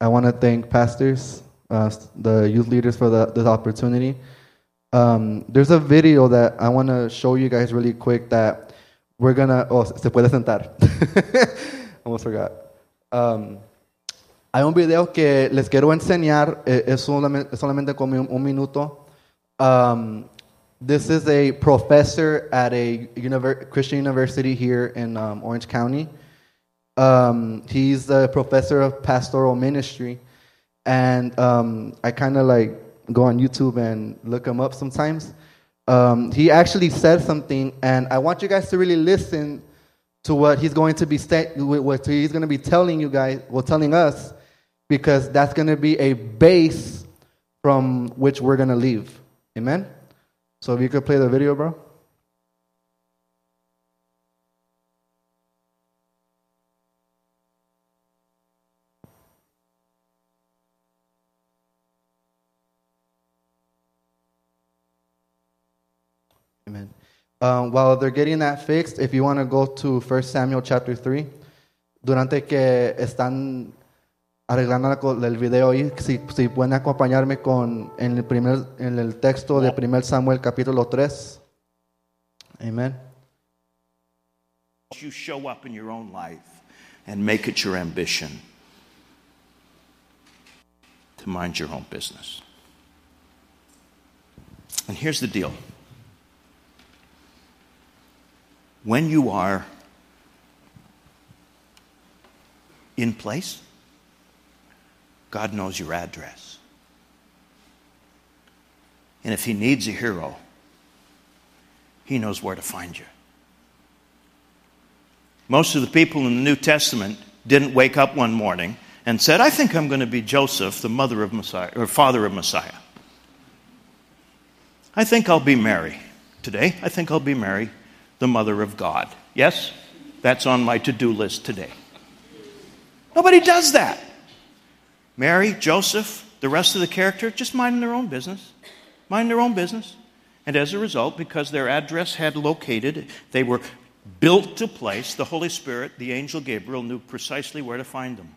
I want to thank pastors, the youth leaders for this opportunity. There's a video that I want to show you guys really quick that we're going to... Oh, se puede sentar. Almost forgot. Hay un video que les quiero enseñar. Es solamente como un minuto. This is a professor at a Christian university here in Orange County. He's a professor of pastoral ministry. And I kind of like go on YouTube and look him up sometimes. He actually said something, and I want you guys to really listen to what he's going to be telling you guys, telling us, because that's going to be a base from which we're going to leave. Amen? So if you could play the video, bro. Amen. While they're getting that fixed, if you want to go to 1 Samuel chapter 3, durante que están arreglando el video ahí, si pueden acompañarme en el texto de 1 Samuel capítulo 3. Amen. You show up in your own life and make it your ambition to mind your own business. And here's the deal. When you are in place, God knows your address. And if He needs a hero, He knows where to find you. Most of the people in the New Testament didn't wake up one morning and said, I think I'm going to be Joseph, the mother of Messiah, or father of Messiah. I think I'll be Mary today. I think I'll be Mary, the mother of God. Yes, that's on my to-do list today. Nobody does that. Mary, Joseph, the rest of the character, just minding their own business. Mind their own business. And as a result, because their address had located, they were built to place, the Holy Spirit, the angel Gabriel, knew precisely where to find them.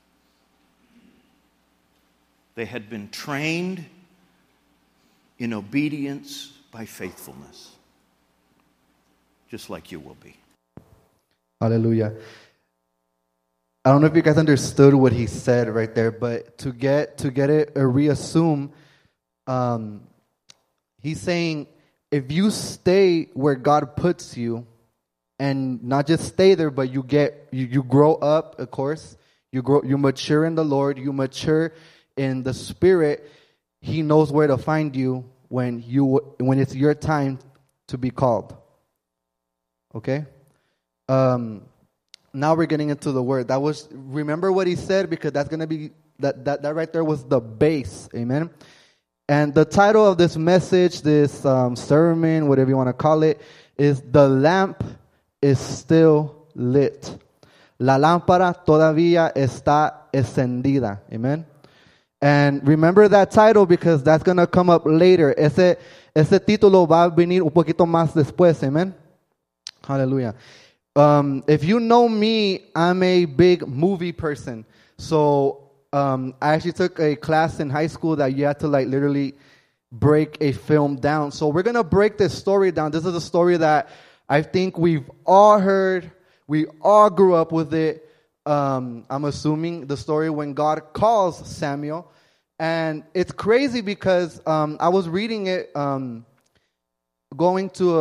They had been trained in obedience by faithfulness. Just like you will be. Hallelujah. I don't know if you guys understood what he said right there, but to get it reassume, he's saying if you stay where God puts you, and not just stay there, but you grow up, of course, you mature in the Lord, you mature in the Spirit. He knows where to find you when it's your time to be called. Okay? Now we're getting into the word. Remember what he said, because that's going to be, that right there was the base. Amen? And the title of this message, this sermon, whatever you want to call it, is The Lamp is Still Lit. La lámpara todavía está encendida. Amen? And remember that title, because that's going to come up later. Ese título va a venir un poquito más después. Amen? Hallelujah. If you know me, I'm a big movie person. So I actually took a class in high school that you had to like literally break a film down. So we're going to break this story down. This is a story that I think we've all heard. We all grew up with it. I'm assuming the story when God calls Samuel. And it's crazy because I was reading it going to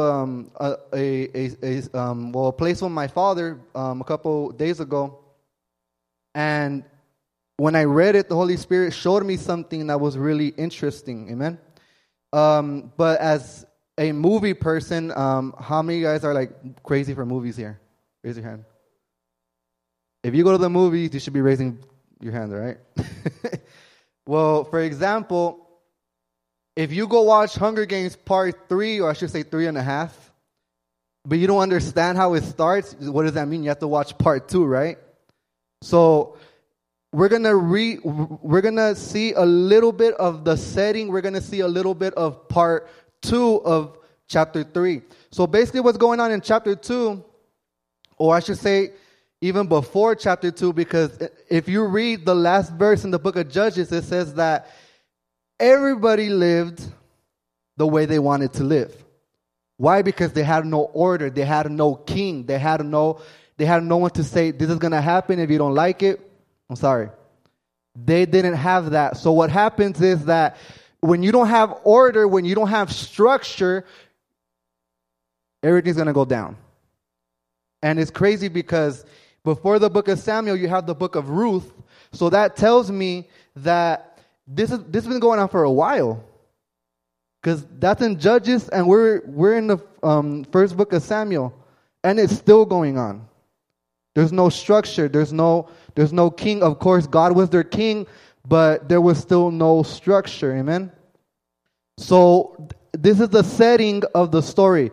a place with my father a couple days ago. And when I read it, the Holy Spirit showed me something that was really interesting. Amen? But as a movie person, how many of you guys are like crazy for movies here? Raise your hand. If you go to the movies, you should be raising your hand, right? Well, for example, if you go watch Hunger Games Part 3, or I should say 3.5, but you don't understand how it starts, what does that mean? You have to watch Part 2, right? So we're gonna see a little bit of the setting. We're gonna see a little bit of Part 2 of Chapter 3. So basically what's going on in Chapter 2, or I should say, even before chapter 2, because if you read the last verse in the book of Judges, it says that everybody lived the way they wanted to live. Why? Because they had no order. They had no king. They had no one to say, this is going to happen. If you don't like it, I'm sorry. They didn't have that. So what happens is that when you don't have order, when you don't have structure, everything's going to go down. And it's crazy because before the book of Samuel, you have the book of Ruth. So that tells me that this has been going on for a while. Because that's in Judges, and we're in the first book of Samuel, and it's still going on. There's no structure. There's no king. Of course, God was their king, but there was still no structure. Amen? So this is the setting of the story.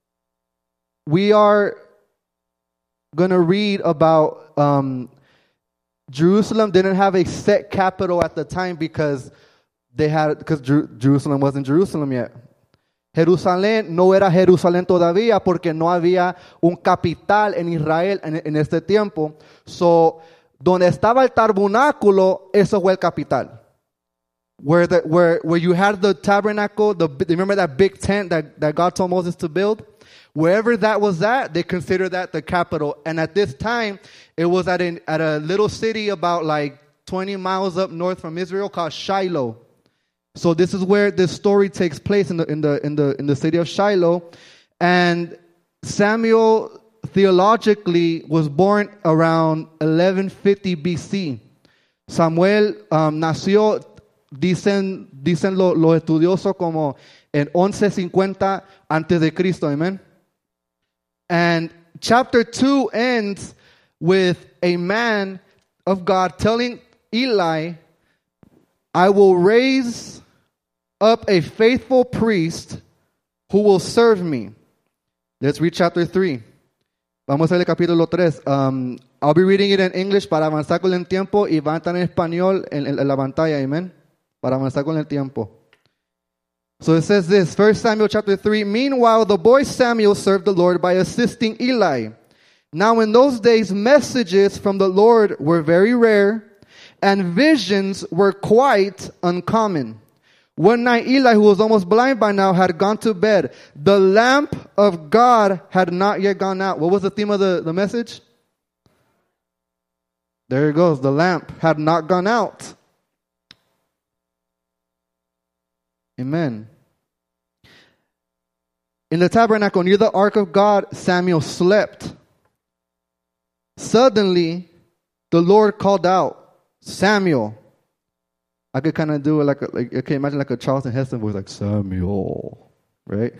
We are going to read about Jerusalem didn't have a set capital at the time because Jerusalem wasn't Jerusalem yet. Jerusalén no era Jerusalén todavía porque no había un capital en Israel en este tiempo. So, donde estaba el tabernáculo, eso fue el capital. Where you had the tabernacle, remember that big tent that God told Moses to build? Wherever that was at, they considered that the capital. And at this time, it was at a little city about like 20 miles up north from Israel called Shiloh. So this is where this story takes place in the city of Shiloh. And Samuel theologically was born around 1150 BC. Samuel nació, dicen los estudiosos como en 1150 antes de Cristo. Amen. And chapter 2 ends with a man of God telling Eli, I will raise up a faithful priest who will serve me. Let's read chapter 3. Vamos a leer el capítulo 3. I'll be reading it in English para avanzar con el tiempo y va a estar en español en la pantalla. Amen. Para avanzar con el tiempo. So it says this, 1 Samuel chapter 3. Meanwhile, the boy Samuel served the Lord by assisting Eli. Now in those days, messages from the Lord were very rare, and visions were quite uncommon. One night, Eli, who was almost blind by now, had gone to bed. The lamp of God had not yet gone out. What was the theme of the message? There it goes. The lamp had not gone out. Amen. In the tabernacle near the ark of God, Samuel slept. Suddenly, the Lord called out, Samuel. I could kind of do it like okay, imagine like a Charlton Heston voice, like Samuel, right?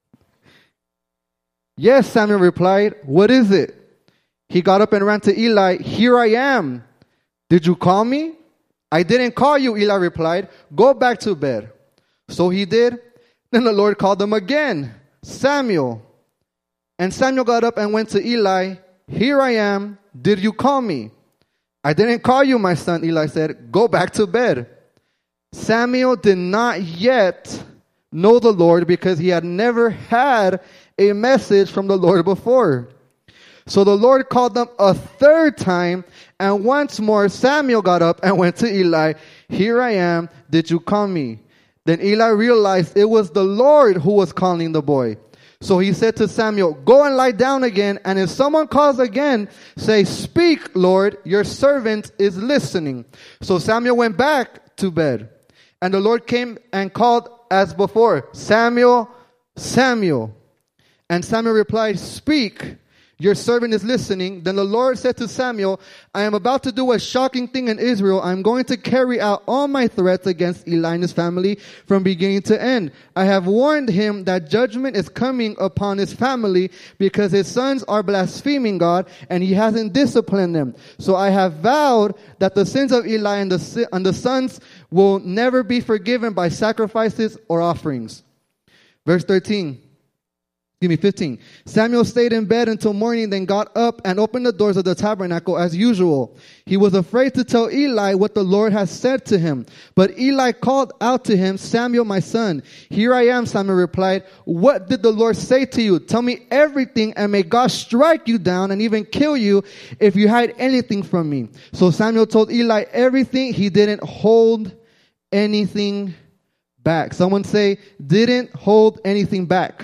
Yes, Samuel replied. What is it? He got up and ran to Eli. Here I am. Did you call me? I didn't call you, Eli replied. Go back to bed. So he did. Then the Lord called him again, Samuel. And Samuel got up and went to Eli. Here I am. Did you call me? I didn't call you, my son, Eli said. Go back to bed. Samuel did not yet know the Lord because he had never had a message from the Lord before. So the Lord called them a third time, and once more Samuel got up and went to Eli. Here I am. Did you call me? Then Eli realized it was the Lord who was calling the boy. So he said to Samuel, go and lie down again, and if someone calls again, say, speak, Lord, your servant is listening. So Samuel went back to bed. And the Lord came and called as before, Samuel, Samuel. And Samuel replied, speak, your servant is listening. Then the Lord said to Samuel, I am about to do a shocking thing in Israel. I am going to carry out all my threats against Eli and his family from beginning to end. I have warned him that judgment is coming upon his family because his sons are blaspheming God and he hasn't disciplined them. So I have vowed that the sins of Eli and the sons will never be forgiven by sacrifices or offerings. Verse 13. Give me 15. Samuel stayed in bed until morning, then got up and opened the doors of the tabernacle as usual. He was afraid to tell Eli what the Lord had said to him. But Eli called out to him, Samuel, my son. Here I am, Samuel replied. What did the Lord say to you? Tell me everything, and may God strike you down and even kill you if you hide anything from me. So Samuel told Eli everything. He didn't hold anything back. Someone say, didn't hold anything back.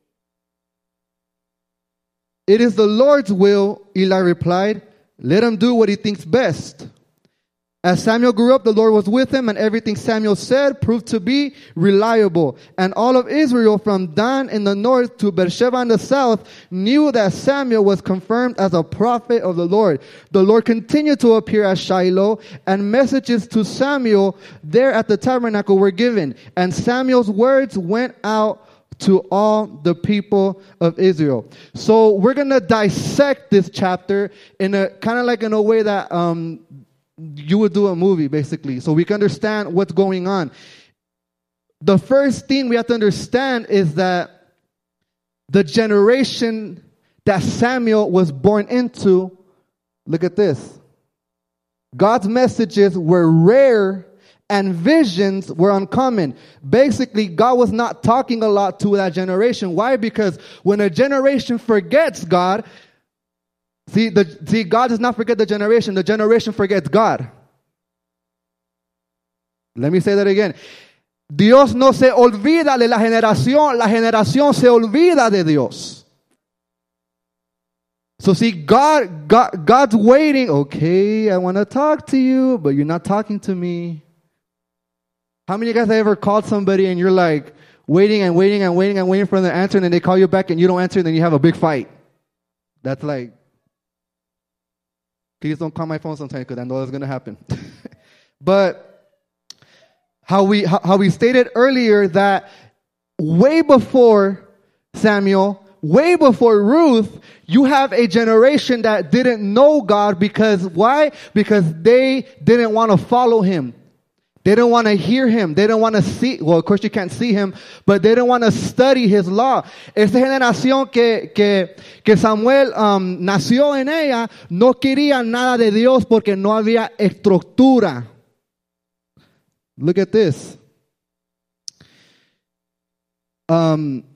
It is the Lord's will, Eli replied. Let him do what he thinks best. As Samuel grew up, the Lord was with him, and everything Samuel said proved to be reliable. And all of Israel, from Dan in the north to Beersheba in the south, knew that Samuel was confirmed as a prophet of the Lord. The Lord continued to appear at Shiloh, and messages to Samuel there at the tabernacle were given. And Samuel's words went out to all the people of Israel. So we're going to dissect this chapter in a kind of like in a way that you would do a movie, basically, so we can understand what's going on. The first thing we have to understand is that the generation that Samuel was born into, look at this. God's messages were rare and visions were uncommon. Basically, God was not talking a lot to that generation. Why? Because when a generation forgets God, God does not forget the generation forgets God. Let me say that again. Dios no se olvida de la generación se olvida de Dios. So God's waiting. Okay, I want to talk to you, but you're not talking to me. How many of you guys have ever called somebody and you're like waiting for them to answer, and then they call you back and you don't answer, and then you have a big fight? That's like, please don't call my phone sometimes because I know that's going to happen. But how we stated earlier that way before Samuel, way before Ruth, you have a generation that didn't know God because why? Because they didn't want to follow him. They don't want to hear him. They don't want to see. Well, of course you can't see him, but they don't want to study his law. Esta generación que Samuel nació en ella no quería nada de Dios porque no había estructura. Look at this. I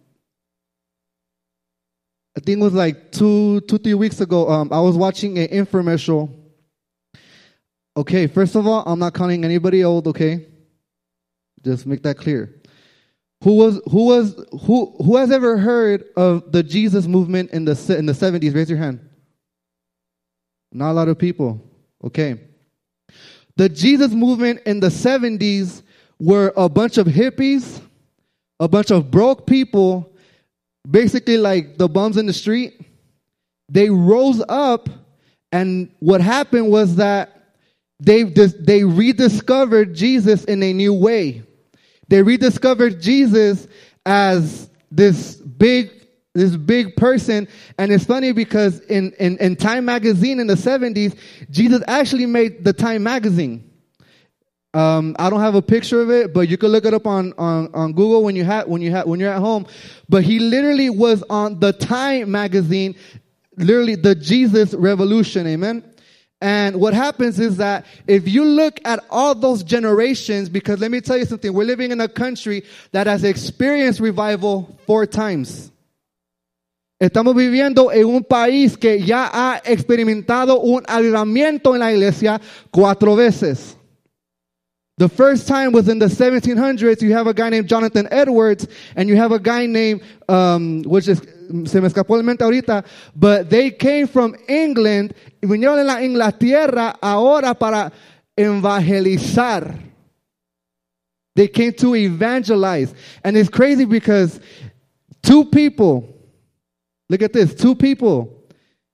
think it was like 3 weeks ago. I was watching an infomercial. Okay, first of all, I'm not calling anybody old, okay? Just make that clear. Who has ever heard of the Jesus movement in the 70s? Raise your hand. Not a lot of people. Okay. The Jesus movement in the 70s were a bunch of hippies, a bunch of broke people, basically like the bums in the street. They rose up, and what happened was that they rediscovered Jesus in a new way. They rediscovered Jesus as this big person. And it's funny because in Time magazine in the 70s, Jesus actually made the Time magazine. I don't have a picture of it, but you can look it up on Google when you're at home. But he literally was on the Time magazine, literally the Jesus revolution. Amen. And what happens is that if you look at all those generations, because let me tell you something, we're living in a country that has experienced revival 4 times. Estamos viviendo en un país que ya ha experimentado un avivamiento en la iglesia 4 veces. The first time was in the 1700s. You have a guy named Jonathan Edwards, and you have a guy named, se me escapó el mente ahorita, but they came from England, y vinieron de la Inglaterra ahora para evangelizar. They came to evangelize. And it's crazy because 2 people, look at this, 2 people,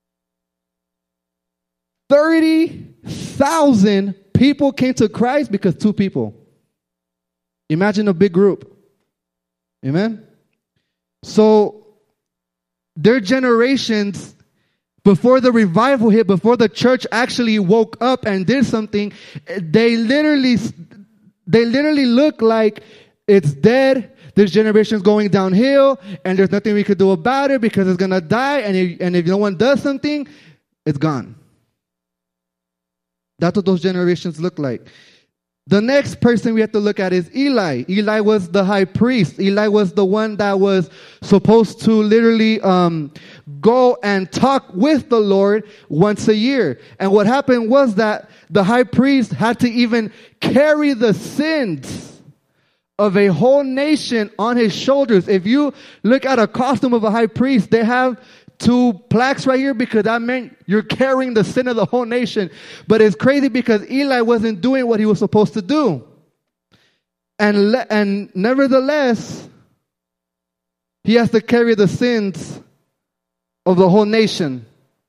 30,000 people came to Christ because 2 people. Imagine a big group. Amen? So, their generations, before the revival hit, before the church actually woke up and did something, they literally look like it's dead. this generation's going downhill, and there's nothing we could do about it because it's going to die, and if no one does something, it's gone. That's what those generations look like. The next person we have to look at is Eli. Eli was the high priest. Eli was the one that was supposed to literally go and talk with the Lord once a year. And what happened was that the high priest had to even carry the sins of a whole nation on his shoulders. If you look at a costume of a high priest, they have 2 plaques right here because that meant you're carrying the sin of the whole nation. But it's crazy because Eli wasn't doing what he was supposed to do. And nevertheless, he has to carry the sins of the whole nation.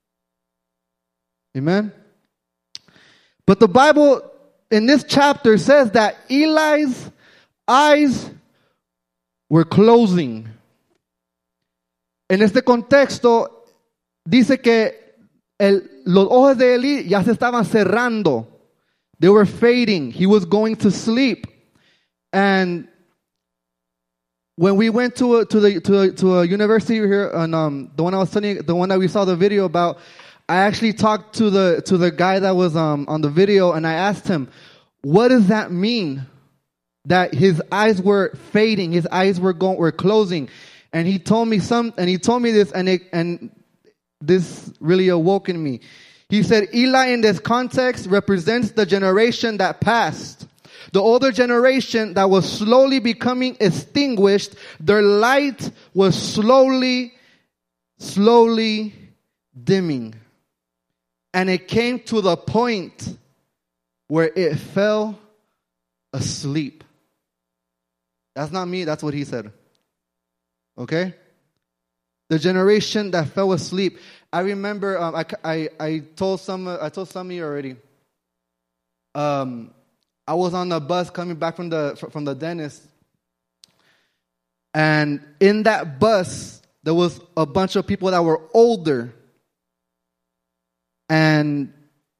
Amen? But the Bible in this chapter says that Eli's eyes were closing. En este contexto, dice que los ojos de Eli ya se estaban cerrando. They were fading. He was going to sleep. And when we went to a university here, and the one I was telling you, the one that we saw the video about, I actually talked to the guy that was on the video, and I asked him, "What does that mean? That his eyes were fading, his eyes were closing?" And he told me this, and this really awoke in me. He said, Eli in this context represents the generation that passed. The older generation that was slowly becoming extinguished, their light was slowly dimming. And it came to the point where it fell asleep. That's not me, that's what he said. Okay? The generation that fell asleep. I remember I told some of you already. I was on the bus coming back from the dentist, and in that bus there was a bunch of people that were older, and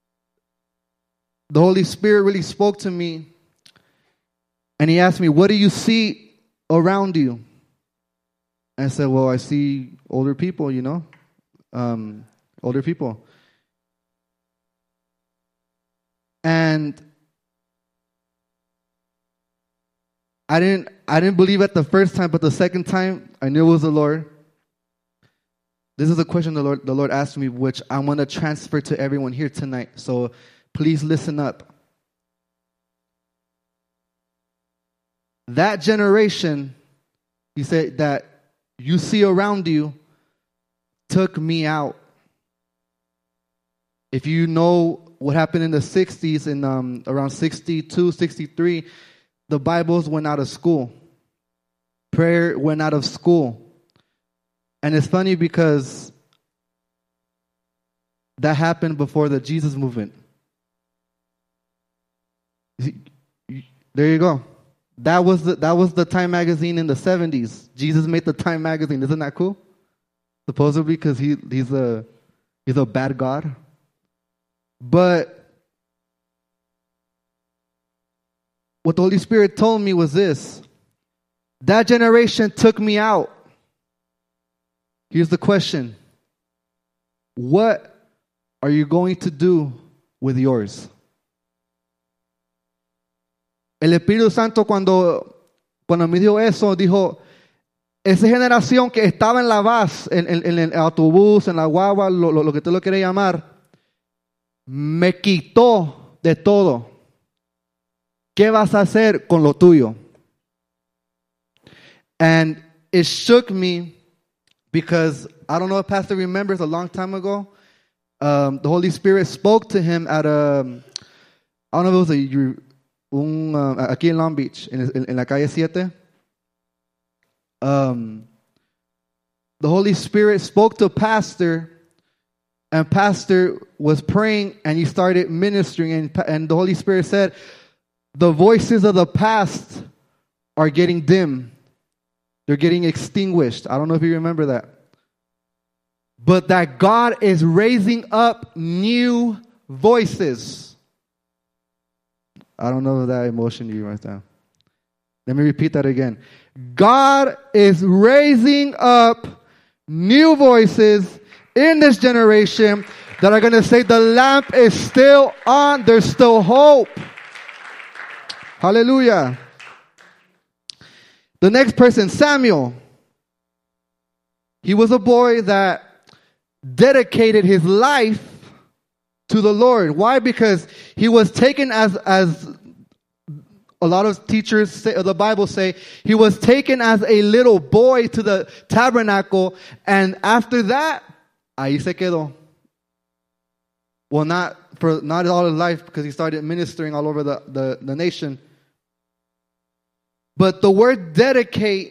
the Holy Spirit really spoke to me, and He asked me, "What do you see around you?" And I said, "Well, I see older people, older people." And I didn't believe it the first time, but the second time, I knew it was the Lord. This is a question the Lord asked me, which I want to transfer to everyone here tonight. So please listen up. That generation, He said, that you see around you took me out. If you know what happened in the 60s, in around 62, 63, the Bibles went out of school. Prayer went out of school. And it's funny because that happened before the Jesus movement. There you go. That was the Time magazine in the 70s. Jesus made the Time magazine. Isn't that cool? Supposedly because he's a bad God. But what the Holy Spirit told me was this. That generation took me out. Here's the question. What are you going to do with yours? El Espíritu Santo cuando me dijo eso, dijo, esa generación que estaba en la bus, en el autobús, en la guagua, lo que tú lo quieras llamar, me quitó de todo. ¿Qué vas a hacer con lo tuyo? And it shook me because I don't know if Pastor remembers a long time ago, the Holy Spirit spoke to him at I don't know if it was aquí en Long Beach, en la calle 7. The Holy Spirit spoke to Pastor, and Pastor was praying, and he started ministering, and the Holy Spirit said, the voices of the past are getting dim. They're getting extinguished. I don't know if you remember that. But that God is raising up new voices. I don't know if that emotion you right now. Let me repeat that again. God is raising up new voices in this generation that are going to say the lamp is still on. There's still hope. Hallelujah. The next person, Samuel. He was a boy that dedicated his life to the Lord. Why? Because he was taken as a lot of teachers say, the Bible say, he was taken as a little boy to the tabernacle, and after that, ahí se quedó. Well, not all his life, because he started ministering all over the nation. But the word dedication,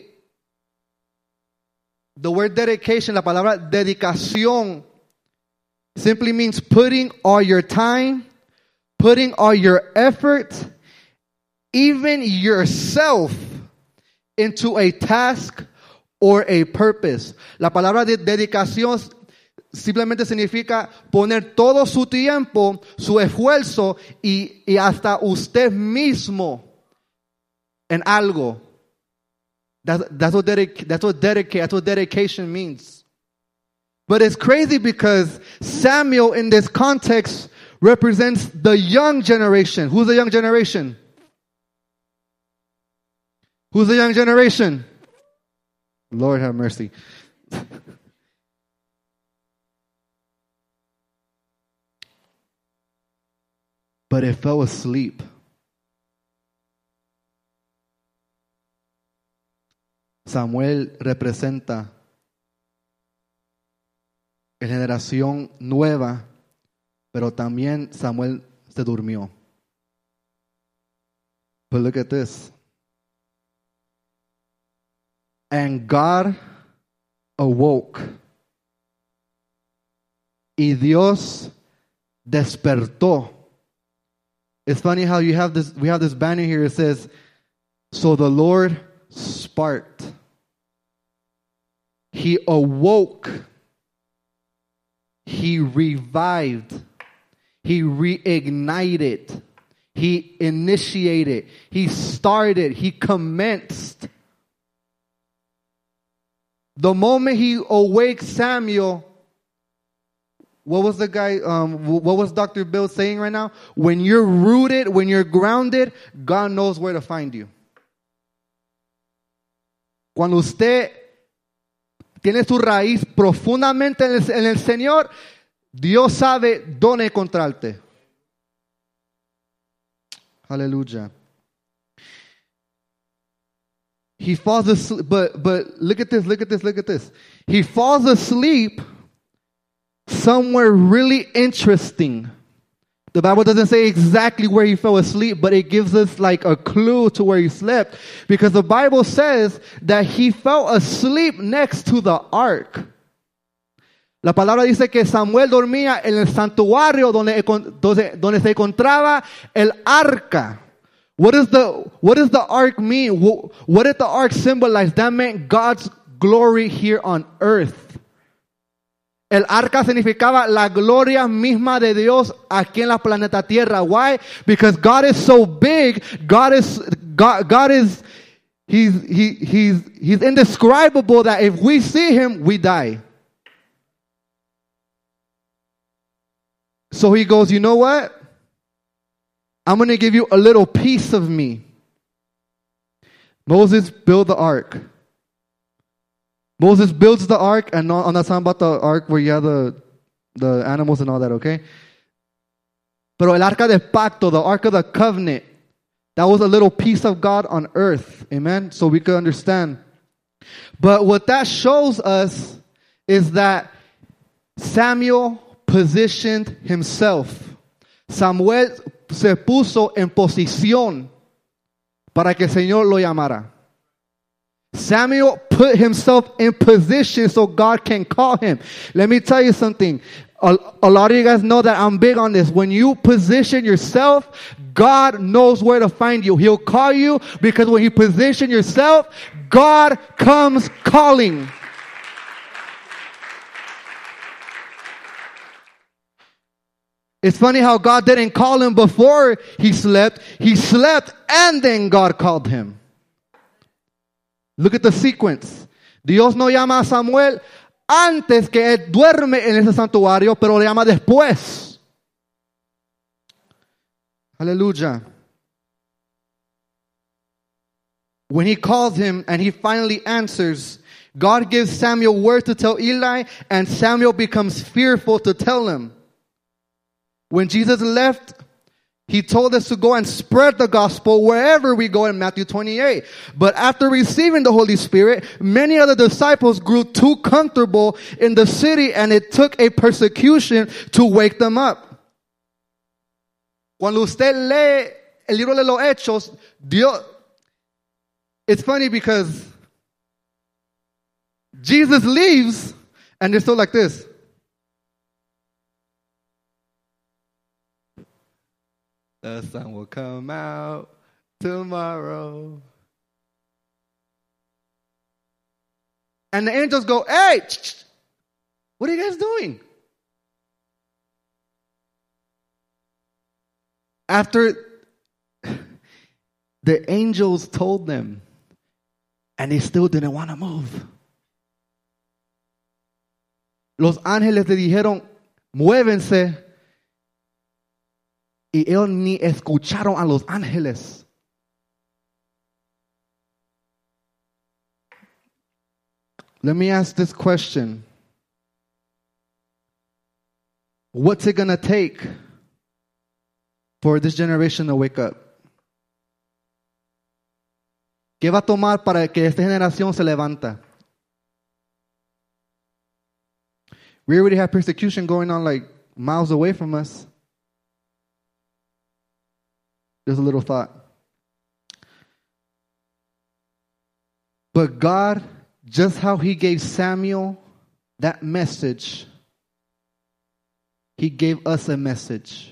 la palabra dedicación, simply means putting all your time, putting all your effort, even yourself, into a task or a purpose. La palabra de dedicación simplemente significa poner todo su tiempo, su esfuerzo y hasta usted mismo en algo. That's what dedication means. But it's crazy because Samuel in this context represents the young generation. Who's the young generation? Who's the young generation? Lord have mercy. But it fell asleep. Samuel representa la generación nueva, pero también Samuel se durmió. But look at this. And God awoke. Y Dios despertó. It's funny how we have this banner here. It says, so the Lord sparked. He awoke. He revived. He reignited. He initiated. He started. He commenced. The moment he awaked Samuel, what was the guy, what was Dr. Bill saying right now? When you're rooted, when you're grounded, God knows where to find you. Cuando usted tiene su raíz profundamente en el Señor, Dios sabe dónde encontrarte. Hallelujah. He falls asleep, but look at this. He falls asleep somewhere really interesting. The Bible doesn't say exactly where he fell asleep, but it gives us like a clue to where he slept. Because the Bible says that he fell asleep next to the ark. La palabra dice que Samuel dormía en el santuario donde se encontraba el arca. What does the ark mean? What did the ark symbolize? That meant God's glory here on earth. El arca significaba la gloria misma de Dios aquí en la planeta Tierra. Why? Because God is so big. God is He's indescribable that if we see him, we die. So he goes, you know what? I'm going to give you a little piece of me. Moses built the ark. Moses builds the ark, and I'm not talking about the ark where you have the animals and all that, okay? Pero el arca del pacto, the ark of the covenant, that was a little piece of God on earth, amen? So we could understand. But what that shows us is that Samuel positioned himself. Samuel se puso en posición para que el Señor lo llamara. Samuel put himself in position so God can call him. Let me tell you something. A lot of you guys know that I'm big on this. When you position yourself, God knows where to find you. He'll call you because when you position yourself, God comes calling. It's funny how God didn't call him before he slept. He slept and then God called him. Look at the sequence. Dios no llama a Samuel antes que él duerme en ese santuario, pero le llama después. Aleluya. When he calls him and he finally answers, God gives Samuel word to tell Eli, and Samuel becomes fearful to tell him. When Jesus left, he told us to go and spread the gospel wherever we go in Matthew 28. But after receiving the Holy Spirit, many other disciples grew too comfortable in the city, and it took a persecution to wake them up. Cuando usted lee el libro de los Hechos, Dios, it's funny because Jesus leaves and they're still like this. The sun will come out tomorrow. And the angels go, hey, what are you guys doing? After the angels told them, and they still didn't want to move. Los ángeles le dijeron, muévense. Y ellos ni escucharon a los ángeles. Let me ask this question. What's it going to take for this generation to wake up? ¿Qué va a tomar para que esta generación se levanta? We already have persecution going on like miles away from us. There's a little thought. But God, just how He gave Samuel that message, He gave us a message.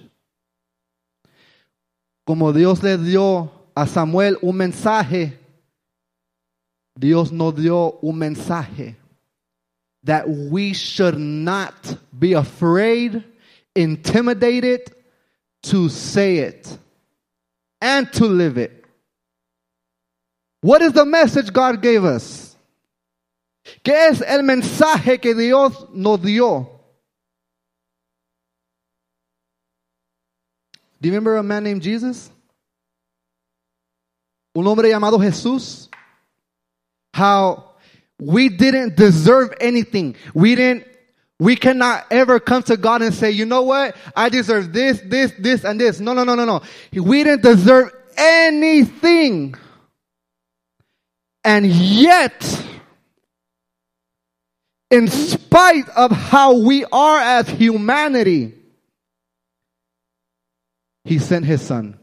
Como Dios le dio a Samuel un mensaje, Dios nos dio un mensaje that we should not be afraid, intimidated to say it and to live it. What is the message God gave us? ¿Qué es el mensaje que Dios nos dio? Do you remember a man named Jesus? Un hombre llamado Jesús. How we didn't deserve anything. We cannot ever come to God and say, you know what? I deserve this, and this. No. We didn't deserve anything. And yet, in spite of how we are as humanity, He sent His Son.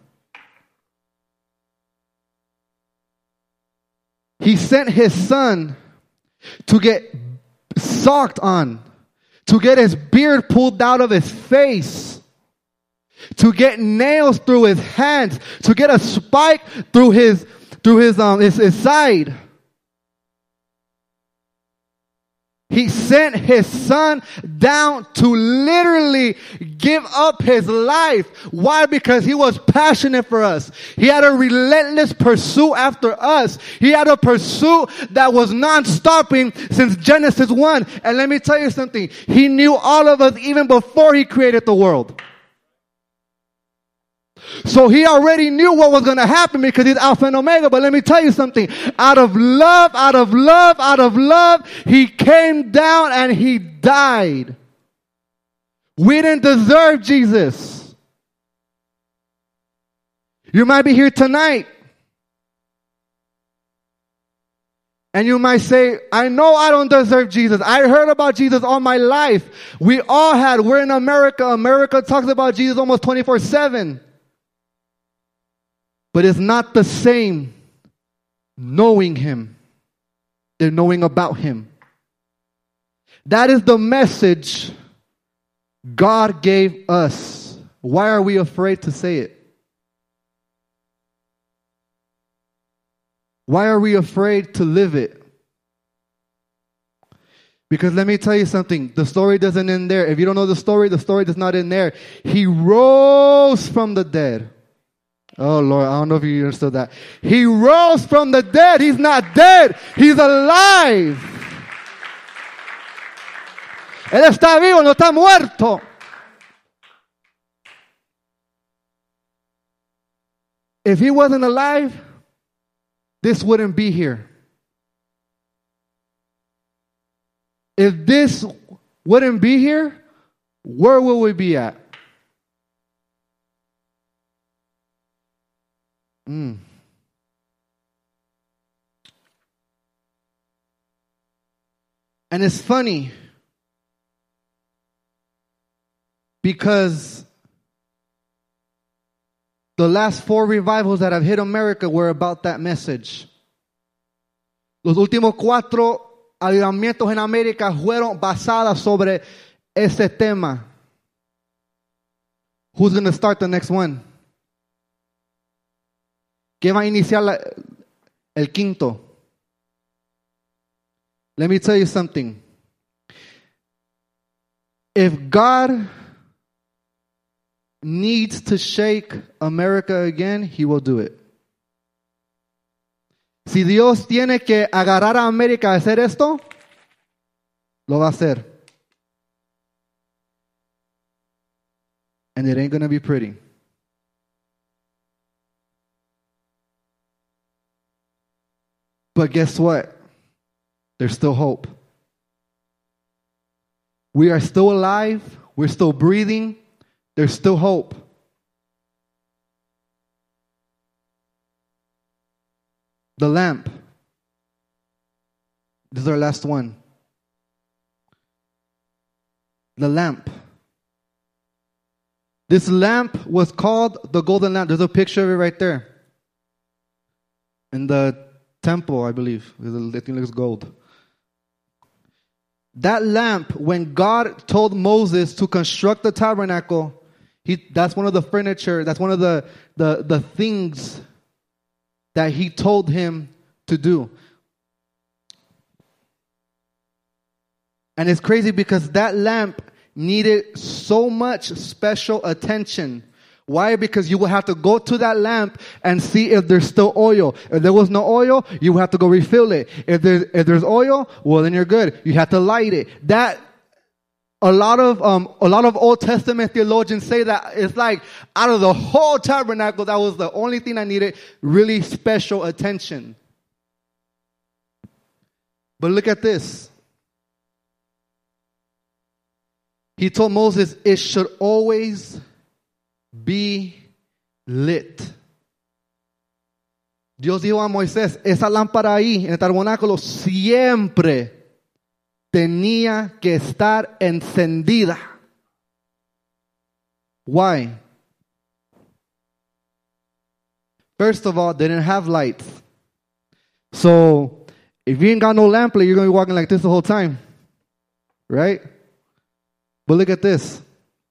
He sent His Son to get socked on, to get His beard pulled out of His face, to get nails through His hands, to get a spike through his side. He sent His Son down to literally give up His life. Why? Because He was passionate for us. He had a relentless pursuit after us. He had a pursuit that was non-stopping since Genesis 1. And let me tell you something. He knew all of us even before He created the world. So He already knew what was going to happen because He's Alpha and Omega. But let me tell you something. Out of love, He came down and He died. We didn't deserve Jesus. You might be here tonight and you might say, I know I don't deserve Jesus. I heard about Jesus all my life. We all had. We're in America. America talks about Jesus almost 24/7. But it's not the same knowing Him than knowing about Him. That is the message God gave us. Why are we afraid to say it? Why are we afraid to live it? Because let me tell you something. The story doesn't end there. If you don't know the story does not end there. He rose from the dead. Oh, Lord, I don't know if you understood that. He rose from the dead. He's not dead. He's alive. Él está vivo, no está muerto. If he wasn't alive, this wouldn't be here. If this wouldn't be here, where would we be at? And it's funny because the last 4 revivals that have hit America were about that message. Los últimos 4 avivamientos en América fueron basadas sobre ese tema. Who's going to start the next one? ¿Qué va a iniciar el quinto? Let me tell you something. If God needs to shake America again, He will do it. Si Dios tiene que agarrar a América a hacer esto, lo va a hacer. And it ain't going to be pretty. But guess what? There's still hope. We are still alive. We're still breathing. There's still hope. The lamp. This is our last one. The lamp. This lamp was called the golden lamp. There's a picture of it right there. In the temple, I believe. I think it looks gold. That lamp, when God told Moses to construct the tabernacle, that's one of the furniture, that's one of the things that He told him to do. And it's crazy because that lamp needed so much special attention. Why? Because you will have to go to that lamp and see if there's still oil. If there was no oil, you will have to go refill it. If there's oil, well, then you're good. You have to light it. A lot of Old Testament theologians say that it's like out of the whole tabernacle, that was the only thing that needed really special attention. But look at this. He told Moses it should always be lit. Dios dijo a Moisés, esa lámpara ahí en el tabernáculo siempre tenía que estar encendida. Why? First of all, they didn't have lights. So, if you ain't got no lamp, you're going to be walking like this the whole time. Right? But look at this.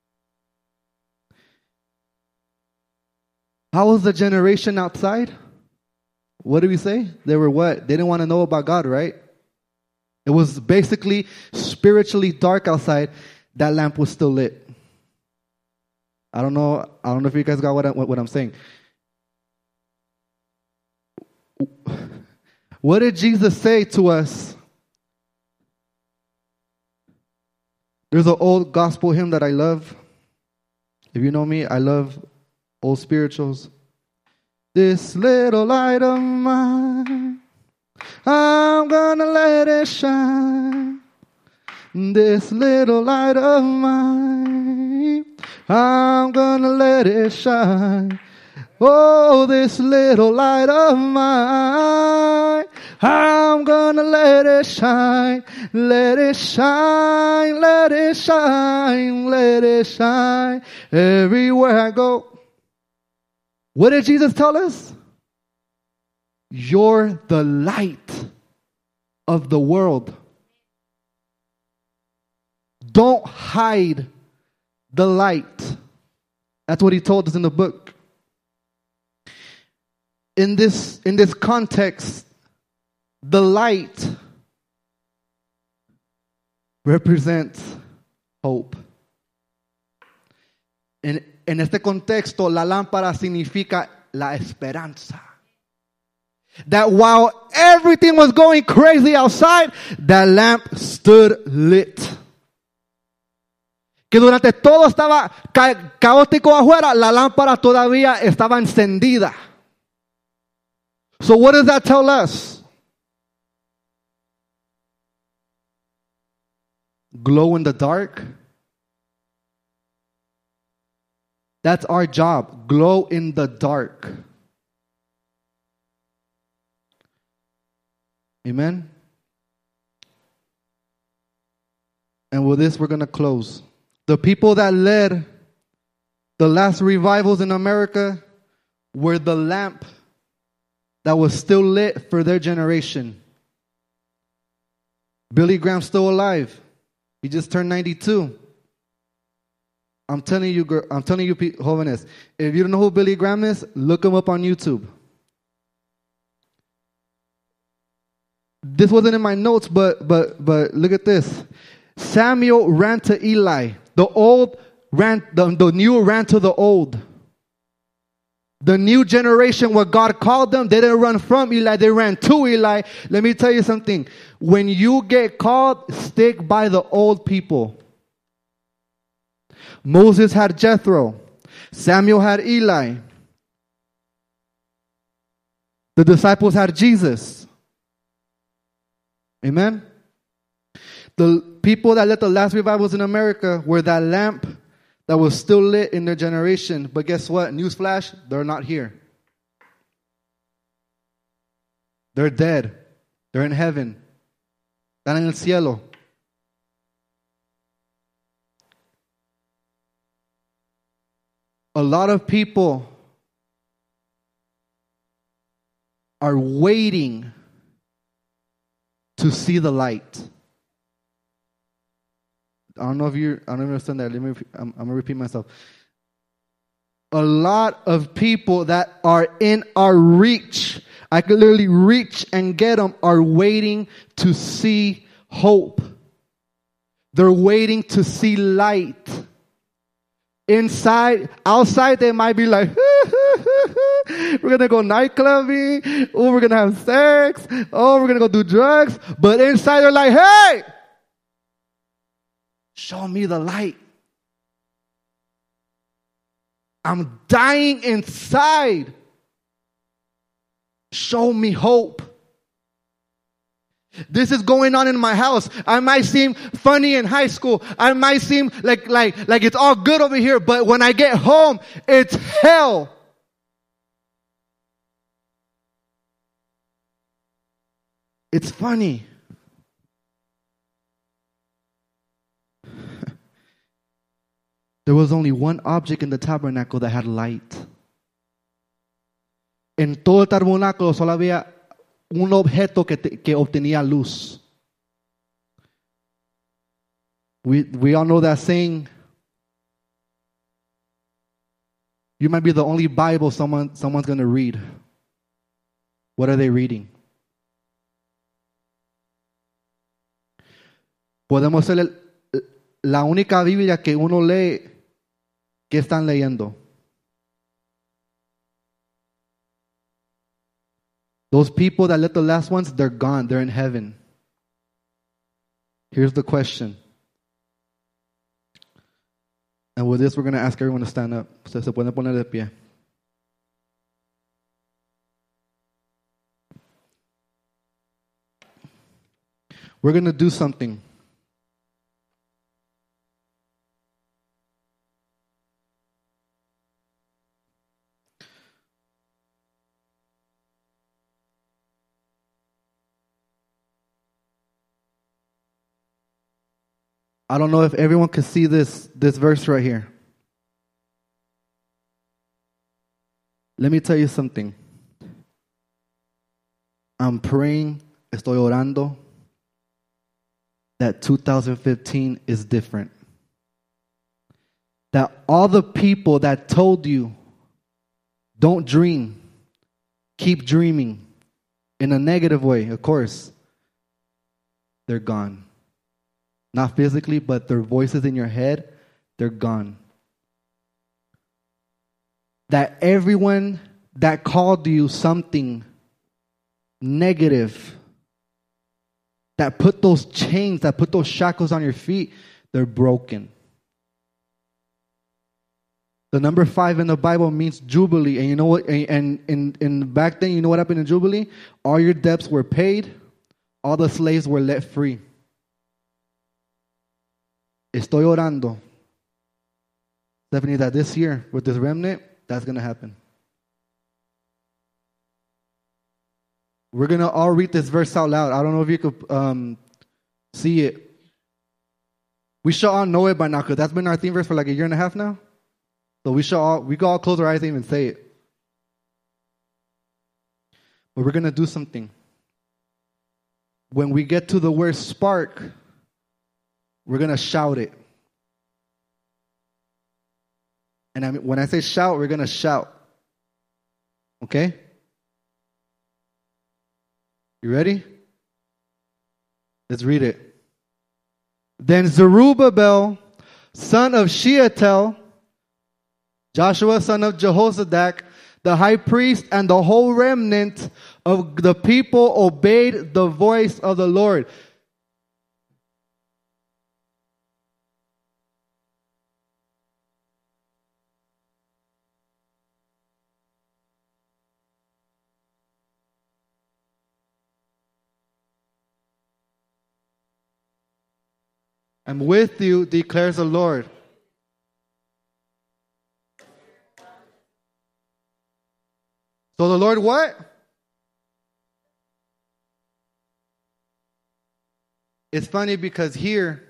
How was the generation outside? What did we say? They were what? They didn't want to know about God, right? It was basically spiritually dark outside. That lamp was still lit. I don't know if you guys got what I'm saying. What did Jesus say to us? There's an old gospel hymn that I love. If you know me, I love old spirituals. This little light of mine, I'm gonna let it shine. This little light of mine, I'm gonna let it shine. Oh, this little light of mine, I'm gonna let it shine. Let it shine, let it shine, let it shine everywhere I go. What did Jesus tell us? You're the light of the world. Don't hide the light. That's what He told us in the book. In this context, the light represents hope. En este contexto, la lámpara significa la esperanza. That while everything was going crazy outside, that lamp stood lit. Que durante todo estaba caótico afuera, la lámpara todavía estaba encendida. So what does that tell us? Glow in the dark. That's our job. Glow in the dark. Amen. And with this, we're going to close. The people that led the last revivals in America were the lamp that was still lit for their generation. Billy Graham's still alive. He just turned 92. I'm telling you, jóvenes, if you don't know who Billy Graham is, look him up on YouTube. This wasn't in my notes, but look at this. Samuel ran to Eli. The new ran to the old. The new generation, what God called them, they didn't run from Eli, they ran to Eli. Let me tell you something. When you get called, stick by the old people. Moses had Jethro. Samuel had Eli. The disciples had Jesus. Amen? The people that led the last revivals in America were that lamp that was still lit in their generation. But guess what? Newsflash, they're not here. They're dead. They're in heaven. Están en el cielo. A lot of people are waiting to see the light. I don't understand that. I'm going to repeat myself. A lot of people that are in our reach, I could literally reach and get them, are waiting to see hope. They're waiting to see light. Outside, they might be like, we're going to go nightclubbing. Oh, we're going to have sex. Oh, we're going to go do drugs. But inside, they're like, hey, show me the light. I'm dying inside. Show me hope. This is going on in my house. I might seem funny in high school. I might seem like it's all good over here. But when I get home, it's hell. It's funny. There was only one object in the tabernacle that had light. En todo el tabernáculo solo había un objeto que obtenía luz. We all know that saying. You might be the only Bible someone's going to read. What are they reading? Podemos ser la única Biblia que uno lee. ¿Qué están leyendo? Those people that led the last ones, they're gone. They're in heaven. Here's the question. And with this, we're going to ask everyone to stand up. Se pueden poner de pie. We're going to do something. I don't know if everyone can see this verse right here. Let me tell you something. I'm praying, estoy orando, that 2015 is different. That all the people that told you, don't dream, keep dreaming, in a negative way, of course, they're gone. Not physically, but their voices in your head, they're gone. That everyone that called you something negative, that put those chains, that put those shackles on your feet, they're broken. The number 5 in the Bible means Jubilee. And you know what? And back then, you know what happened in Jubilee? All your debts were paid. All the slaves were let free. Estoy orando, Stephanie, that this year, with this remnant, that's going to happen. We're going to all read this verse out loud. I don't know if you could see it. We should all know it by now, because that's been our theme verse for like a year and a half now. So we can all close our eyes and even say it. But we're going to do something. When we get to the word spark, we're going to shout it. And when I say shout, we're going to shout. Okay? You ready? Let's read it. Then Zerubbabel, son of Shealtiel, Joshua, son of Jehozadak, the high priest, and the whole remnant of the people obeyed the voice of the Lord. I'm with you, declares the Lord. So the Lord what? It's funny because here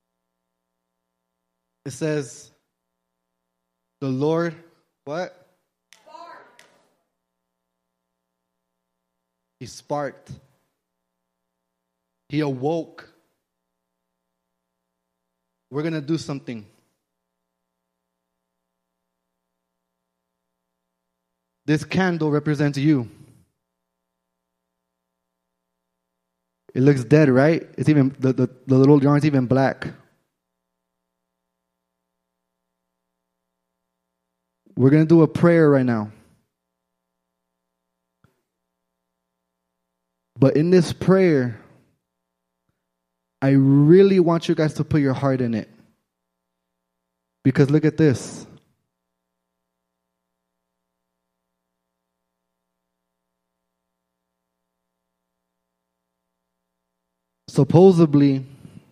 it says the Lord what? Sparked. He sparked. He awoke. We're going to do something. This candle represents you. It looks dead, right? It's even the little yarn's even black. We're going to do a prayer right now. But in this prayer, I really want you guys to put your heart in it. Because look at this. Supposedly,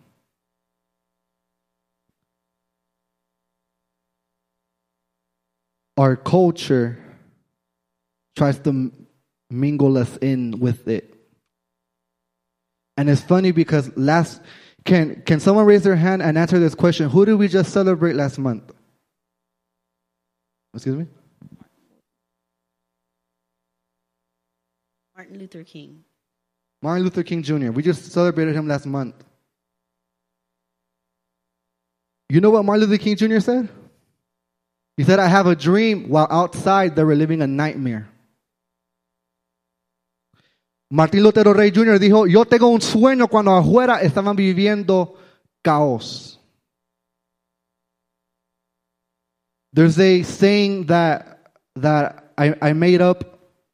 our culture tries to mingle us in with it. And it's funny because can someone raise their hand and answer this question? Who did we just celebrate last month? Excuse me? Martin Luther King. Martin Luther King Jr. We just celebrated him last month. You know what Martin Luther King Jr. said? He said, I have a dream while outside they were living a nightmare. Martín Lutero Rey Jr. dijo, yo tengo un sueño cuando afuera estaban viviendo caos. There's a saying that I made up,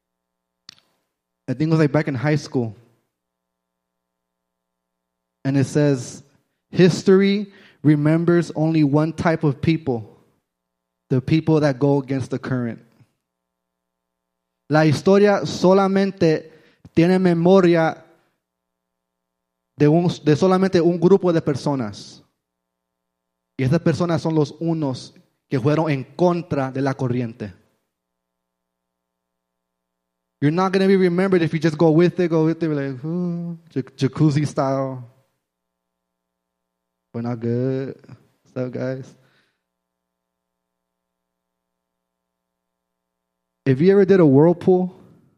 I think it was like back in high school. And it says, history remembers only one type of people, the people that go against the current. La historia solamente tiene memoria de solamente un grupo de personas. Y esas personas son los unos que fueron en contra de la corriente. You're not going to be remembered if you just go with it, like, jacuzzi style. We're not good. What's up, guys? If you ever did a whirlpool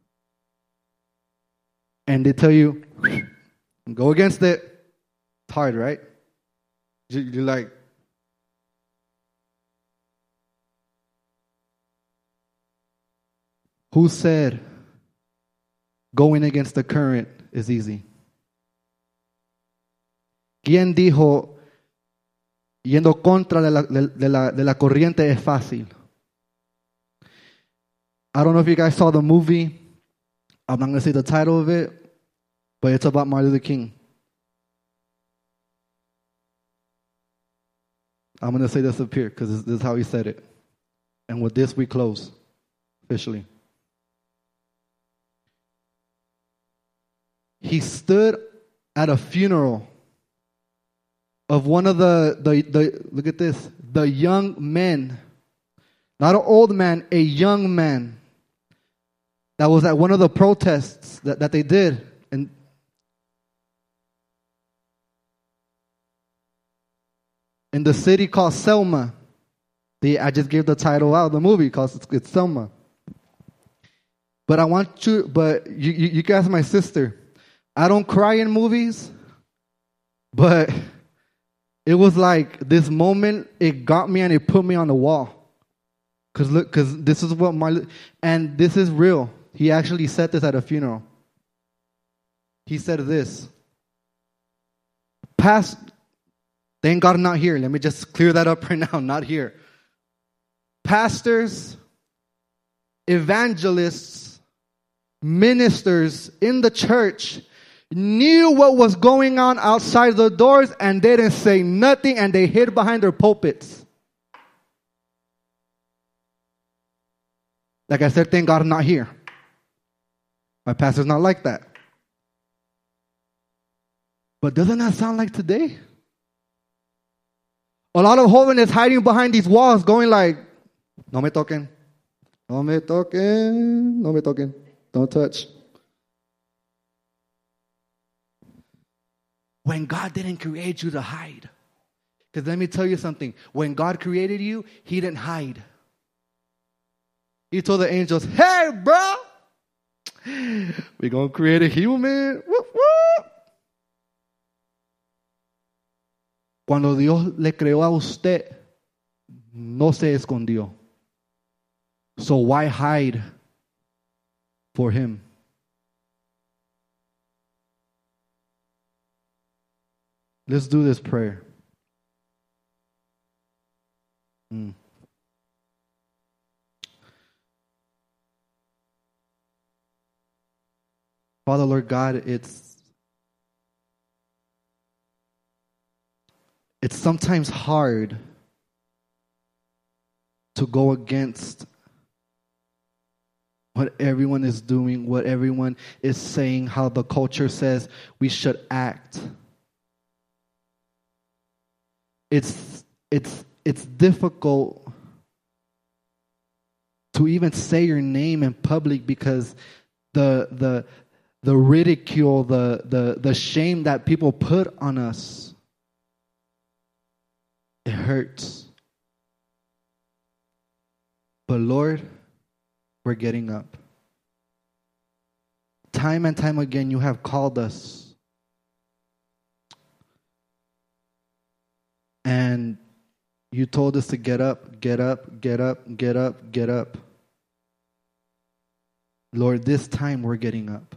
and they tell you, go against it, it's hard, right? You're like, who said going against the current is easy? ¿Quién dijo yendo contra de la corriente es fácil? I don't know if you guys saw the movie. I'm not going to say the title of it, but it's about Martin Luther King. I'm going to say this up here because this is how he said it. And with this, we close officially. He stood at a funeral of one of the look at this, the young men, not an old man, a young man that was at one of the protests that they did. And in the city called Selma. I just gave the title out of the movie because it's Selma. But you can ask my sister. I don't cry in movies, but it was like this moment, it got me and it put me on the wall. Because this is what and this is real. He actually said this at a funeral. He said this. Thank God I'm not here. Let me just clear that up right now. Not here. Pastors, evangelists, ministers in the church knew what was going on outside the doors and they didn't say nothing and they hid behind their pulpits. Like I said, thank God I'm not here. My pastor's not like that. But doesn't that sound like today? A lot of jóvenes hiding behind these walls going like, no me toquen, no me toquen, no me toquen, don't touch. When God didn't create you to hide. Because let me tell you something. When God created you, He didn't hide. He told the angels, hey, bro, we're going to create a human. Whoop, whoop. Cuando Dios le creó a usted, no se escondió. So why hide for Him? Let's do this prayer. Father, Lord God, it's sometimes hard to go against what everyone is doing, what everyone is saying, how the culture says we should act. It's difficult to even say your name in public because the ridicule, the shame that people put on us, it hurts. But Lord, we're getting up. Time and time again, you have called us. And you told us to get up, get up, get up, get up, get up. Lord, this time we're getting up.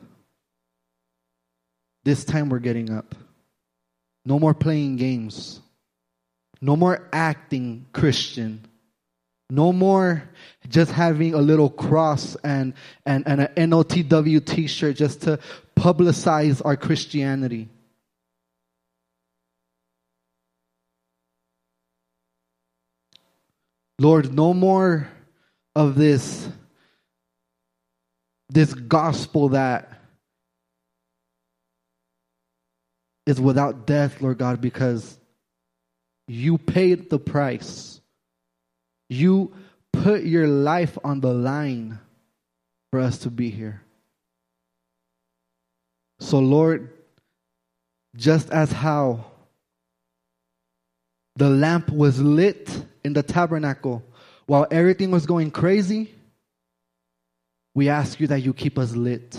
This time we're getting up. No more playing games. No more acting Christian. No more just having a little cross and an NOTW t-shirt just to publicize our Christianity. Lord, no more of this gospel that is without death, Lord God, because you paid the price. You put your life on the line for us to be here. So, Lord, just as how the lamp was lit in the tabernacle while everything was going crazy, we ask you that you keep us lit,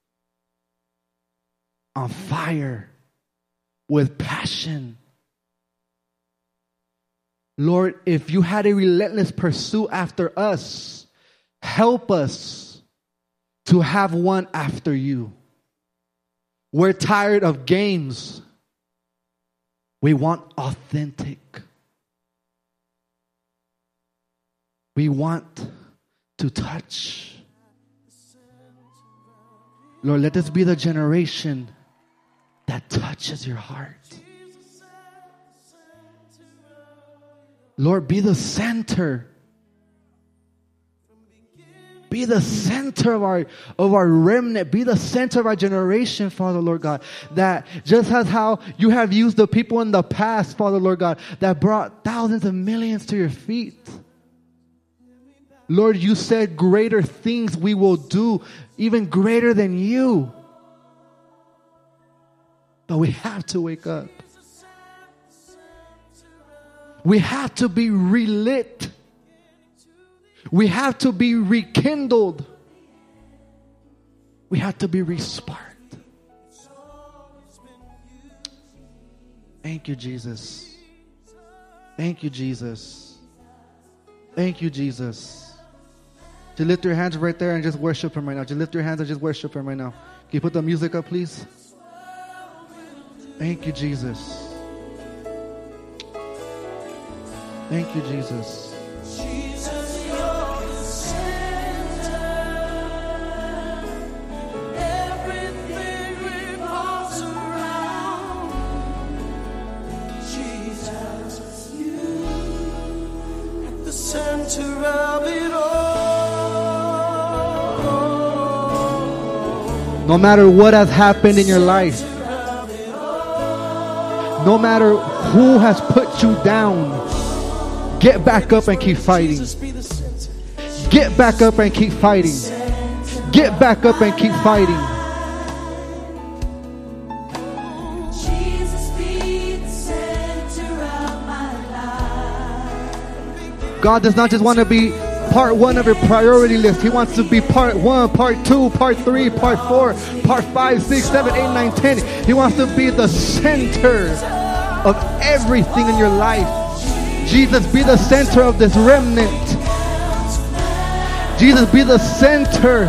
on fire, with passion. Lord, if you had a relentless pursuit after us, help us to have one after you. We're tired of games. We want authentic. We want to touch. Lord, let this be the generation that touches your heart. Lord, be the center. Be the center of our remnant. Be the center of our generation, Father, Lord God. That just as how you have used the people in the past, Father, Lord God, that brought thousands of millions to your feet. Lord, you said greater things we will do, even greater than you. But we have to wake up. We have to be relit. We have to be rekindled. We have to be resparked. Thank you, Jesus. Thank you, Jesus. Thank you, Jesus. Just lift your hands right there and just worship Him right now. Just lift your hands and just worship Him right now. Can you put the music up, please? Thank you, Jesus. Thank you, Jesus. Jesus, you're the center. Everything revolves around Jesus, you at the center of it all. No matter what has happened in your life, no matter who has put you down, get back up and keep fighting. Get back up and keep fighting. Get back up and keep fighting. Jesus, be the center of my life. God does not just want to be part one of your priority list. He wants to be part 1, part 2, part 3, part 4, part 5, 6, 7, 8, 9, 10. He wants to be the center of everything in your life. Jesus, be the center of this remnant. Jesus, be the center.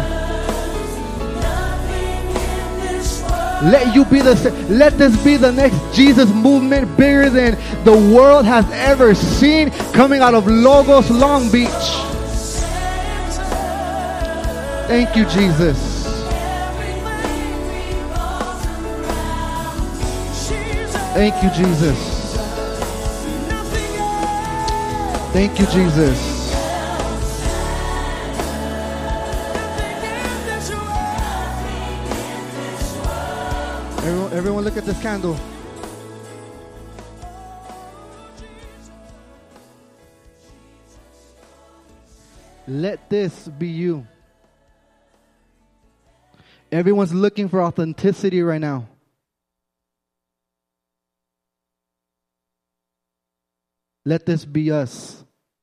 Let you be let this be the next Jesus movement, bigger than the world has ever seen, coming out of Logos, Long Beach. Thank you, Jesus. Thank you, Jesus. Thank you, Jesus. Everyone look at this candle. Let this be you. Everyone's looking for authenticity right now. Let this be us.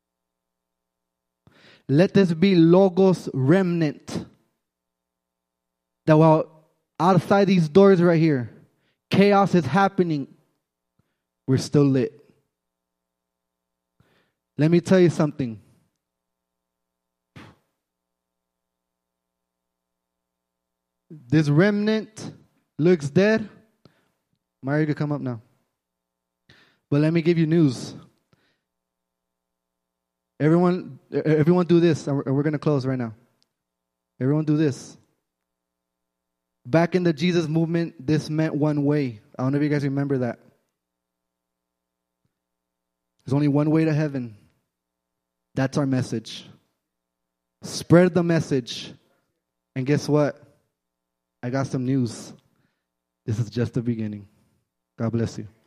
Let this be Logos remnant. That while outside these doors right here, chaos is happening, we're still lit. Let me tell you something. This remnant looks dead. Mario, you can come up now. But let me give you news. Everyone do this, and we're going to close right now. Everyone do this. Back in the Jesus movement, this meant one way. I don't know if you guys remember that. There's only one way to heaven. That's our message. Spread the message. And guess what? I got some news. This is just the beginning. God bless you.